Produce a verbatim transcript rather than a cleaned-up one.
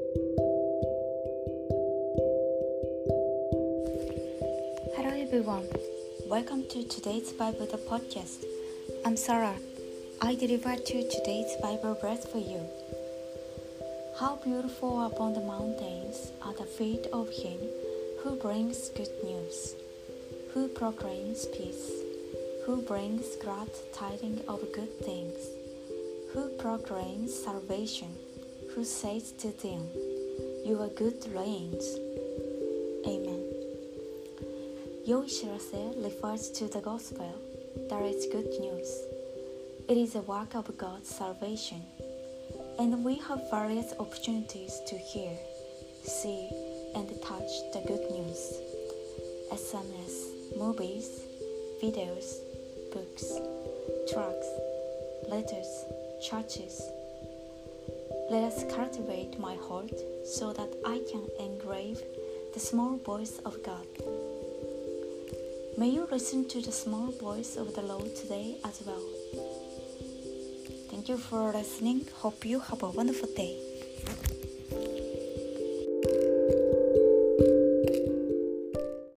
Hello everyone, welcome to today's Bible the podcast. I'm Sarah. I deliver to today's Bible verse for you. How beautiful upon the mountains are the feet of him who brings good news, who proclaims peace, who brings glad tidings of good things, who proclaims salvation, who says to them, "Your good reigns." Amen. 良い知らせ refers to the gospel, that is good news. It is a work of God's salvation, and we have various opportunities to hear, see, and touch the good news. S M S, movies, videos, books, tracts, letters, churches. Let us cultivate my heart so that I can engrave the small voice of God. May you listen to the small voice of the Lord today as well. Thank you for listening. Hope you have a wonderful day.